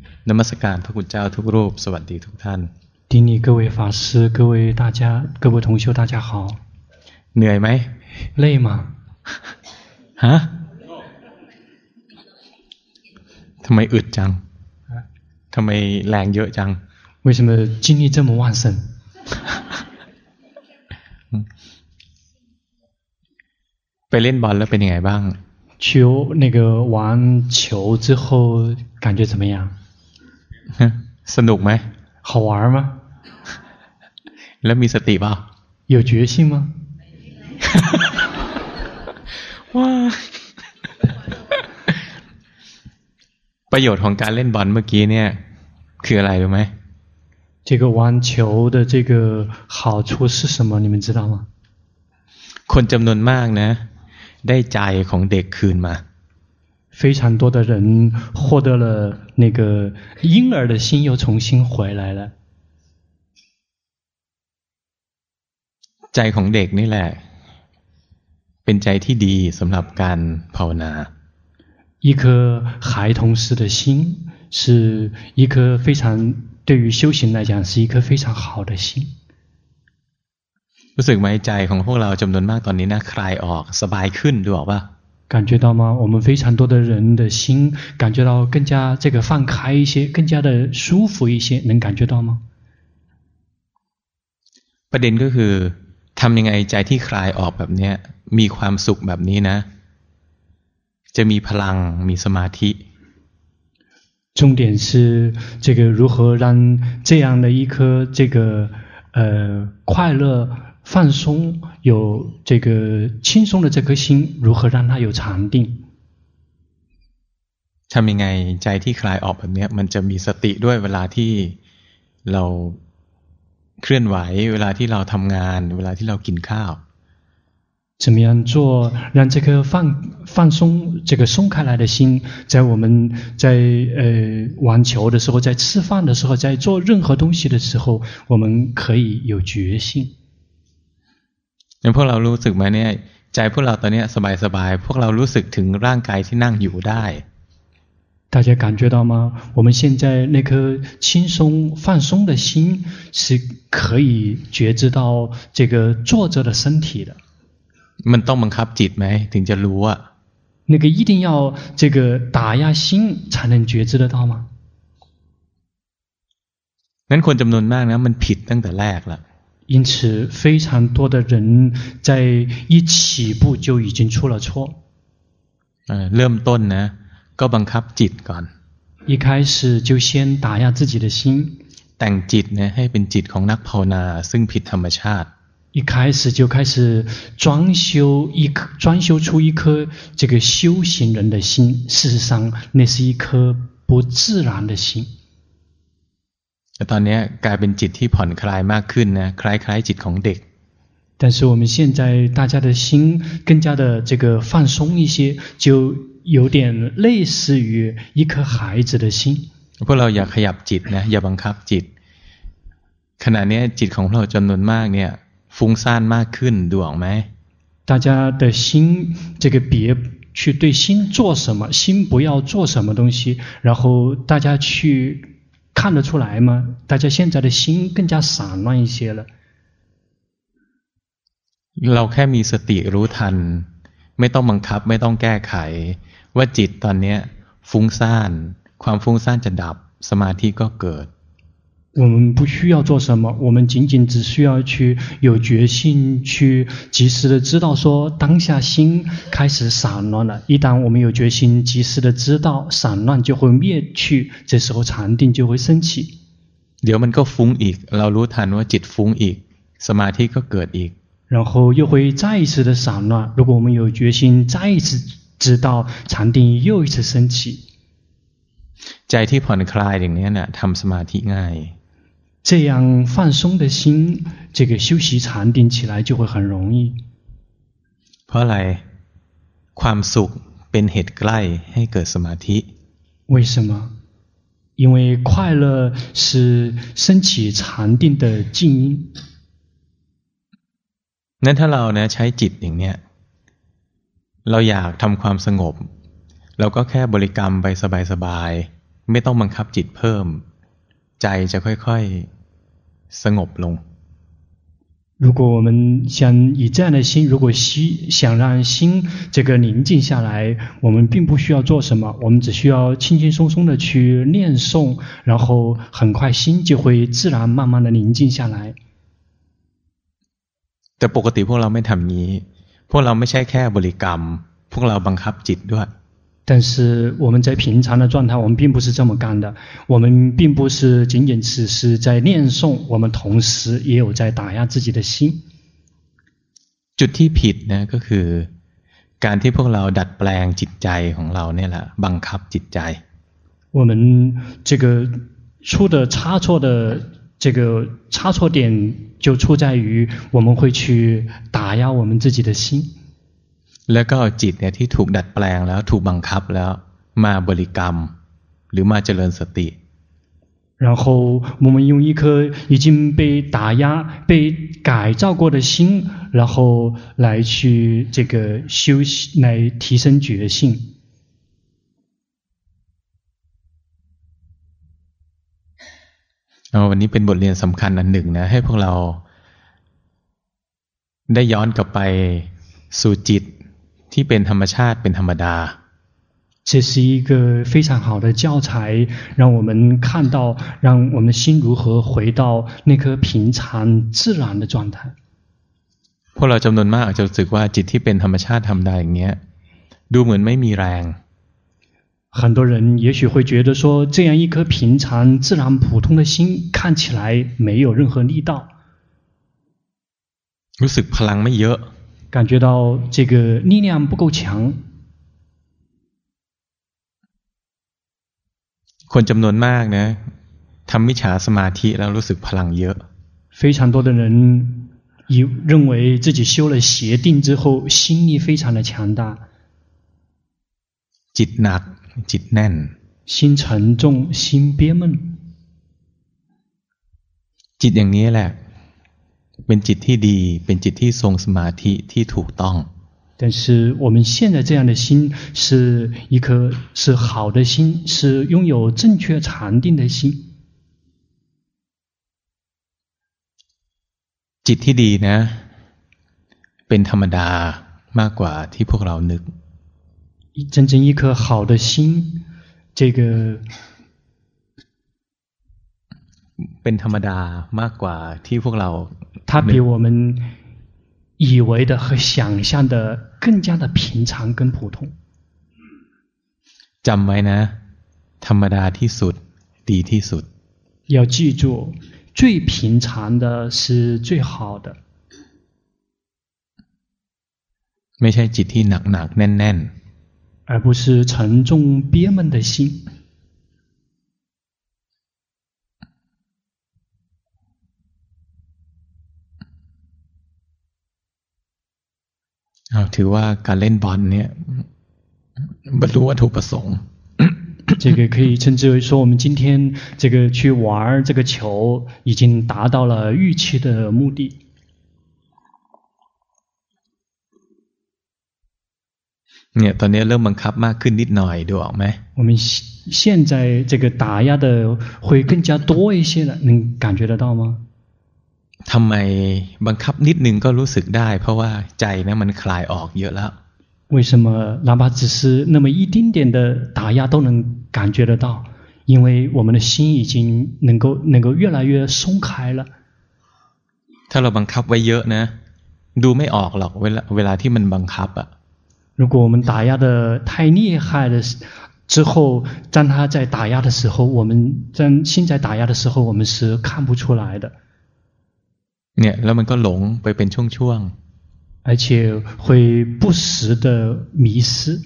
นมัสการพระคุณเจ้าทุกรูปสวัสดีทุกท่าน顶礼各位法师，各位大家，各位同修，大家好。 เหนื่อยไหม累吗？ ฮะทำไมอึดจังทำไมแรงเยอะจัง为什么精力这么旺盛？ ไปเล่นบอลแล้วเป็นยังไงบ้าง去那个玩球之后感觉怎么样？ สนุกไหม好玩吗？ แล้วมีสติเปล่า有决心吗？ ว้าประโยชน์ของการเล่นบอลเมื่อกี้เนี่ยคืออะไรรู้ไหม这个玩球的这个好处是什么？你们知道吗？ คนจำนวนมากนะได้ใจของเด็กคืนมา非常多的人获得了那个婴兒的心又重新回來了ใจของเด็กนี่แหละเป็นใจที่ดีสำหรับการภาวนา一顆孩童式的心是一顆非常對於修行來講是一顆非常好的心รู้สึกไหมใจของพวกเราจำนวนมากตอนนี้นะคลายออกสบายขึ้นดูออกป่ะ感覺到嗎？我們非常多的人的心感覺到更加這個放開一些，更加的舒服一些，能感覺到嗎？ ประเด็นก็คือทำยังไงใจที่คลายออกแบบนี้มีความสุขแบบนี้นะจะมีพลังมีสมาธิ重點是這個如何讓這樣的一顆這個快樂放鬆有這個輕鬆的這顆心如何讓它有禪定ทำยังไงใจที่คลายออกแบบนี้มันจะมีสติด้วยเวลาที่เราเคลื่อนไหวเวลาที่เราทำงานเวลาที่เรากินข้าว怎麼樣做讓這個放鬆這個鬆開來的心在我們在玩球的時候在吃飯的時候在做任何東西的時候我們可以有決心พวกเรารู้สึกไหมเนี่ยใจพวกเราตอนนี้สบายๆพวกเรารู้สึกถึงร่างกายที่นั่งอยู่ได้大家感覺到嗎？我們現在那顆輕鬆放鬆的心是可以覺知到這個坐着的身體的มันต้องบังคับจิตไหมถึงจะรู้อ่ะ那個一定要這個打壓心才能覺知得到嗎？ นั้นคนจำนวนมากนะมันผิดตั้งแต่แรกละ因此非常多的人在一起步就已經出了錯เริ่มต้นนะก็บังคับจิตก่อน一開始就先打壓自己的心แต่งจิตนะให้เป็นจิตของนักภาวนาซึ่งผิดธรรมชาติ一開始就開始專修出一顆這個修行人的心事實上那是一顆不自然的心แต่ตอนนี้กลายเป็นจิตที่ผ่อนคลายมากขึ้นนะคล้ายๆจิตของเด็ก但是我们現在大家的心更加的這個放鬆一些就有點類似於一顆孩子的心พวกเราอย่าขยับจิตนะอย่าบังคับจิตขณะนี้จิตของเราจำนวนมากเนี่ยฟุ้งซ่านมากขึ้นดูออกไหม大家的心這個別去對心做什麼心不要做什麼東西然後大家去看得出來嗎大家現在的心更加散亂一些了เราแค่มีสติรู้ทันไม่ต้องบังคับไม่ต้องแก้ไขว่าจิตตอนนี้ฟุ้งซ่านความฟุ้งซ่านจะดับสมาธิก็เกิด我們不需要做什麼我們僅僅只需要去有決心去及時的知道說當下心開始散亂了一旦我們有決心及時的知道散亂就會滅去這時候禪定就會升起เดี๋ยวมันก็ฟุ้งอีกเรารู้ทันว่าจิตฟุ้งอีกสมาธิก็เกิดอีก然後又會再一次的散亂如果我們有決心再一次知道禪定又一次升起ใจที่ผ่อนคลายอย่างนี้นะทำสมาธิง่าย這樣放鬆的心這個修習禪定起來就會很容易เพราะอะไรความสุขเป็นเหตุใกล้ให้เกิดสมาธิ為什麼因為快樂是升起禪定的靜音นั้นถ้าเรานะใช้จิตอย่างเนี้ยเราอยากทำความสงบเราก็แค่บริกรรมไปสบายๆไม่ต้องบังคับจิตเพิ่มใจจะค่อยๆสงบลง如果我们想以这样的心，如果想让心这个宁静下来，我们並不需要做什麼，我們只需要輕輕鬆鬆的去念誦，然後很快心就會自然慢慢的寧靜下來。 แต่ปกติพวกเราไม่ทำงี้พวกเราไม่ใช่แค่บริกรรมพวกเราบังคับจิตด้วย但是我們在平常的狀態，我們並不是這麼幹的。我們並不是僅僅只是在念誦，我們同時也有在打壓自己的心。 จุดที่ผิดนะก็คือการที่พวกเราดัดแปลงจิตใจของเราเนี่ยแหละบังคับจิตใจ我們這個出的差錯的這個差錯點就出在於我們會去打壓我們自己的心。 แล้วก็เอาจิตเนี่ยที่ถูกดัดแปลงแล้วถูกบังคับแล้วมาบริกรรมหรือมาเจริญสติ然後我們用一顆已經被打壓、被改造過的心，然後來去這個修習，來提升覺性。 วันนี้เป็นบทเรียนสำคัญอันหนึ่งนะให้พวกเราได้ย้อนกลับไปสู่จิตที่เป็นธรรมชาติเป็นธรรมดา這是一個非常好的教材，讓我們看到，讓我們的心如何回到那顆平常自然的狀態。 พวกเราจำนวนมากอาจจะรู้สึกว่าจิตที่เป็นธรรมชาติธรรมดาอย่างเงี้ยดูเหมือนไม่มีแรง很多人也許會覺得說，這樣一顆平常自然普通的心看起來沒有任何力道， รู้สึกพลังไม่เยอะ感覺到這個力量不夠強。 คนจำนวนมากนะทำมิจฉาสมาธิแล้วรู้สึกพลังเยอะ非常多的人認為自己修了邪定之後心力非常的強大จิตหนักจิตแน่น心沉重心憋悶จิตอย่างนี้แหละเป็นจิตที่ดีเป็นจิตที่ทรงสมาธิที่ถูกต้อง但是我們現在這樣的心是一顆是好的心，是擁有正確禪定的心。 จิตที่ดีนะเป็นธรรมดามากกว่าที่พวกเรานึก真正一顆好的心，這個เป็นธรรมดามากกว่าที่พวกเรา它比我們以為的和想象的更加的平常跟普通。 จำไว้นะธรรมดาที่สุดดีที่สุด要記住最平常的是最好的ไม่ใช่จิตที่หนักๆแน่นๆ而不是沉重憋悶的心ถือว่าการเล่นบอลเนี่ยบรรลุวัตถุประสงค์這個可以稱之為說我們今天這個去玩這個球已經達到了預期的目的เนี่ยตอนนี้เริ่มบังคับมากขึ้นนิดหน่อยดูออกไหม我們現在這個打壓的會更加多一些了能感覺得到嗎ทำไมบังคับนิดนึงก็รู้สึกได้เพราะว่าใจนะมันคลายออกเยอะแล้ว為什麼哪怕只是那麼一丁點的打壓都能感覺得到因為我們的心已經能夠越來越鬆開了ถ้าเราบังคับไว้เยอะนะดูไม่ออกหรอกเวลาที่มันบังคับอ่ะ如果我們打壓的太厲害了之後當他在打壓的時候我們當心在打壓的時候我們是看不出來的เนี่ยแล้วมันก็หลงไปเป็นช่วงๆ而且會不時的迷失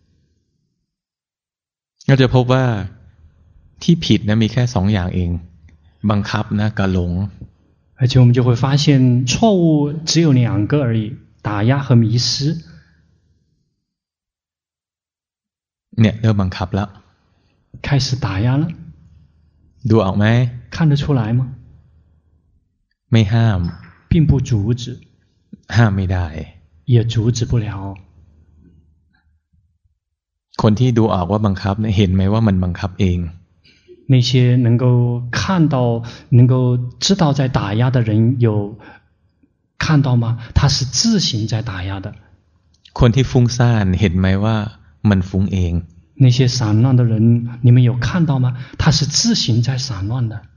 ก็จะพบว่าที่ผิดนะมีแค่สองอย่างเองบังคับนะกับหลง而且我們就會發現錯誤只有兩個而已打壓和迷失เนี่ยเริ่มบังคับแล้ว開始打壓了ดูออกไหม看得出來嗎ไม่ห้าม並不阻止ห้ามไม่ได้也阻止不了คนที่ดูออกว่าบังคับเนี่ยเห็นไหมว่ามันบังคับเอง那些能夠看到、能夠知道在打壓的人有看到嗎？他是自行在打壓的。 คนที่ฟุ้งซ่านเห็นไหมว่ามันฟุ้งเอง那些散亂的人，你們有看到嗎？他是自行在散亂的。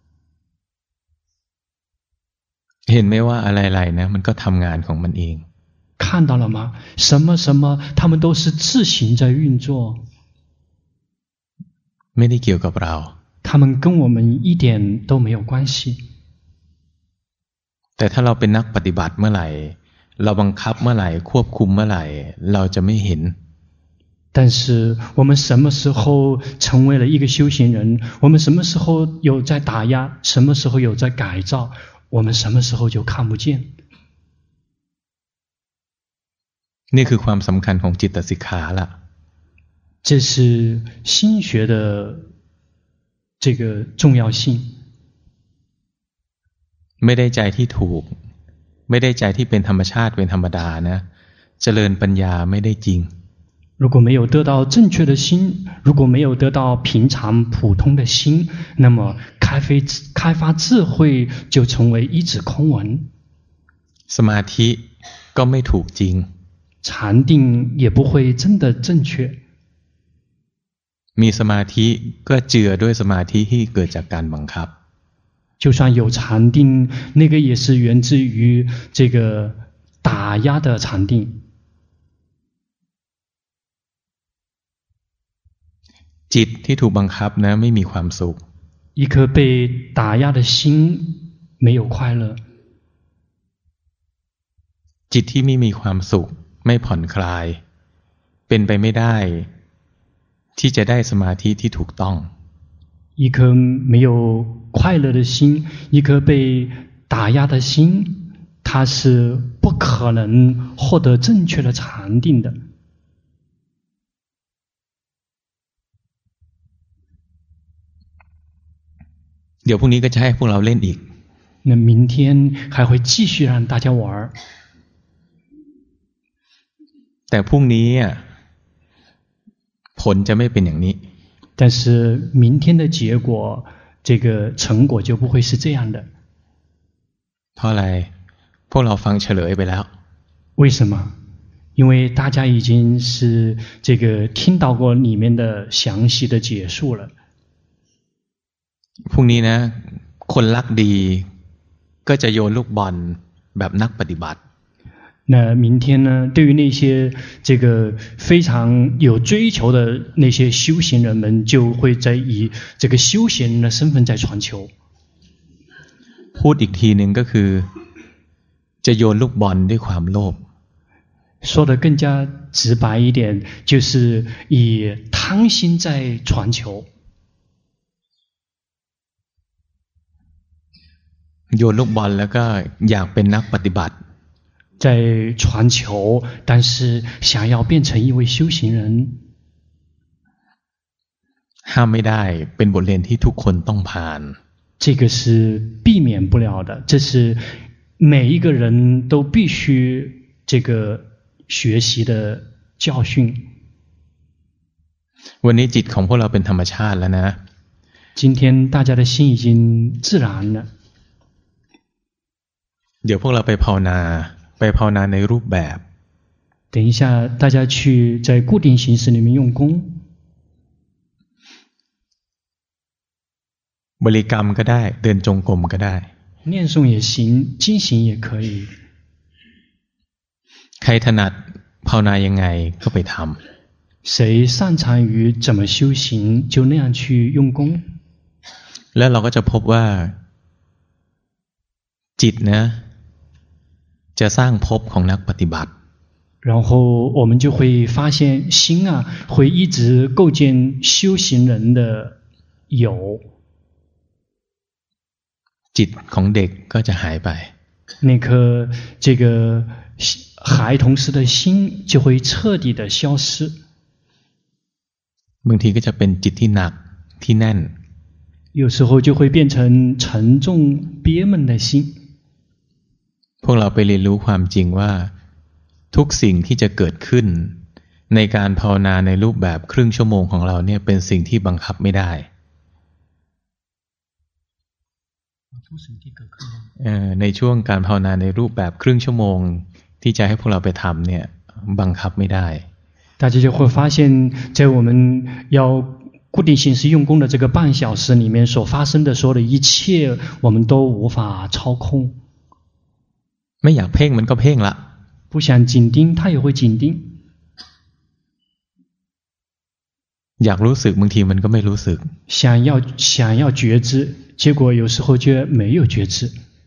เห็นไหมว่าอะไรๆนะมันก็ทำงานของมันเอง看到了嗎？什麼什麼，他們都是自行在運作。 ไม่ได้เกี่ยวกับเรา他們跟我們一點都沒有關係。 แต่ถ้าเราเป็นนักปฏิบัติเมื่อไหร่เราบังคับเมื่อไหร่ควบคุมเมื่อไหร่เราจะไม่เห็น但是我們什麼時候成為了一個修行人，我們什麼時候有在打壓，什麼時候有在改造，我們什麼時候就看不見。 นี่คือความสำคัญของจิตสิกขาละ這是心學的這個重要性。 ไม่ได้ใจที่ถูกไม่ได้ใจที่เป็นธรรมชาติเป็นธรรมดานะเจริญปัญญาไม่ได้จริง如果沒有得到正確的心，如果沒有得到平常普通的心，那麼開發智慧就成為一紙空文。 สมาธิก็ไม่ถูกจริง禪定也不會真的正確。 มีสมาธิก็เจือด้วยสมาธิที่เกิดจากการบังคับ就算有禪定，那個也是源自於這個打壓的禪定。 จิตที่ถูกบังคับนะไม่มีความสุข一顆被打壓的心沒有快樂。 จิตที่ไม่มีความสุขไม่ผ่อนคลายเป็นไปไม่ได้ที่จะได้สมาธิที่ถูกต้อง一顆沒有快樂的心，一顆被打壓的心，它是不可能獲得正確的禪定的。 เดี๋ยวพรุ่งนี้ก็จะให้พวกเราเล่นอีก那明天還會繼續讓大家玩。 แต่พรุ่งนี้ผลจะไม่เป็นอย่างนี้但是明天的結果，這個成果就不會是這樣的。 เพราะอะไรพวกเราฟังเฉลยไปแล้ว為什麼？因為大家已經是這個聽到過裡面的詳細的解述了。 พรุ่งนี้นะคนรักดีก็จะโยนลูกบอลแบบนักปฏิบัติ那明天呢，對於那些這個非常有追求的那些修行人們，就會在以這個修行人的身份在傳球。 พูดอีกทีหนึ่งก็คือจะโยนลูกบอลด้วยความโลภ說得更加直白一點，就是以貪心在傳球。 โยนลูกบอลแล้วก็อยากเป็นนักปฏิบัติ在傳球，但是想要變成一位修行人， ห้ามไม่ได้เป็นบทเรียนที่ทุกคนต้องผ่าน這個是避免不了的，這是每一個人都必須這個學習的教訓。 วันนี้จิตของพวกเราเป็นธรรมชาติแล้วนะ今天大家的心已經自然了。 เดี๋ยวพวกเราไปภาวนาในรูปแบบ等一下大家去在固定形式裡面用功บริกรรมก็ได้เดินจงกรมก็ได้念誦也行經行也可以ใครถนัดภาวนายังไงก็ไปทำ誰擅長於怎麼修行就那樣去用功แล้วเราก็จะพบว่าจิตนะจะสร้างภพของนักปฏิบัติ然後我們就會發現心會一直構建修行人的有จิตของเด็กก็จะหายไป那顆這個孩童時的心就會徹底的消失บางทีก็จะเป็นจิตที่หนักที่แน่น有時候就會變成沉重憋悶的心พวกเราไปเรียนรู้ความจริงว่าทุกสิ่งที่จะเกิดขึ้นในการภาวนาในรูปแบบครึ่งชั่วโมงของเราเนี่ยเป็นสิ่งที่บังคับไม่ได้ในช่วงการภาวนาในรูปแบบครึ่งชั่วโมงที่จะให้พวกเราไปทำเนี่ยบังคับไม่ได้大家就会发现在我们要固定形式用功的这个半小时里面所发生的所有的一切我们都无法操控ไม่อยากเพ่งมันก็เพ่งละ不想紧盯它也会紧盯อยากรู้สึกบางทีมันก็ไม่รู้สึก想要觉知结果有时候却没有觉知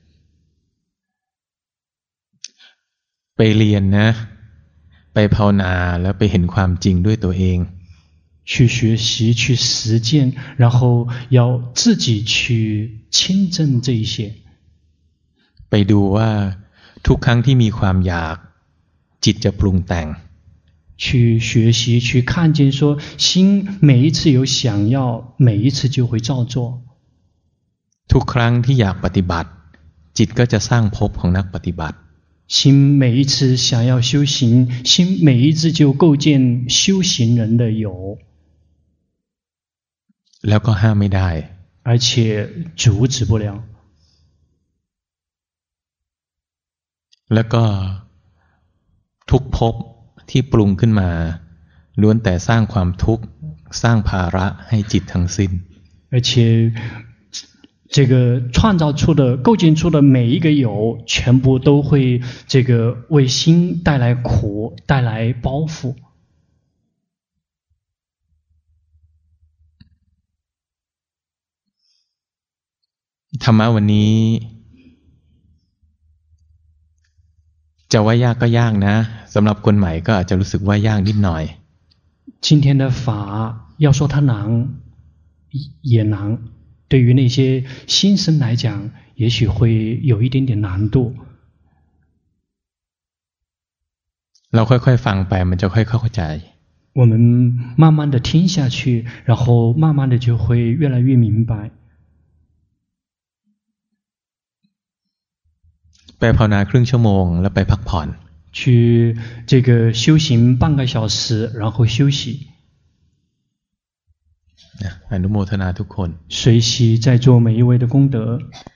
ไปเรียนนะไปภาวนาแล้วไปเห็นความจริงด้วยตัวเอง去学習去實踐然後要自己去親證這一些ไปดูว่าทุกครั้งที่มีความอยากจิตจะปรุงแต่ง去學習去看見說心每一次有想要每一次就會照做ทุกครั้งที่อยากปฏิบัติจิตก็จะสร้างภพของนักปฏิบัติ心每一次想要修行心每一次就構建修行人的有แล้วก็ห้ามไม่ได้而且阻止不了แล้วก็ทุกภพที่ปรุงขึ้นมาล้วนแต่สร้างความทุกข์สร้างภาระให้จิตทั้งสิ้น而且这个創造出的構建出的每一個有全部都會這個為心帶來苦帶來包袱ธรรมะวันนี้จะว่ายากก็ยากนะสำหรับคนใหม่ก็อาจจะรู้สึกว่ายากนิดหน่อย今天的法要說它難也難對於那些新生來講也許會有一點點難度เราค่อยๆฟังไปมันจะค่อยๆเข้าใจ我們慢慢的聽下去然後慢慢的就會越來越明白ไปภาวนาครึ่งชั่วโมงแล้วไปพักผ่อน去這個修行半個小時然後休息อนุโมทนาทุกคน隨喜在座每一位的功德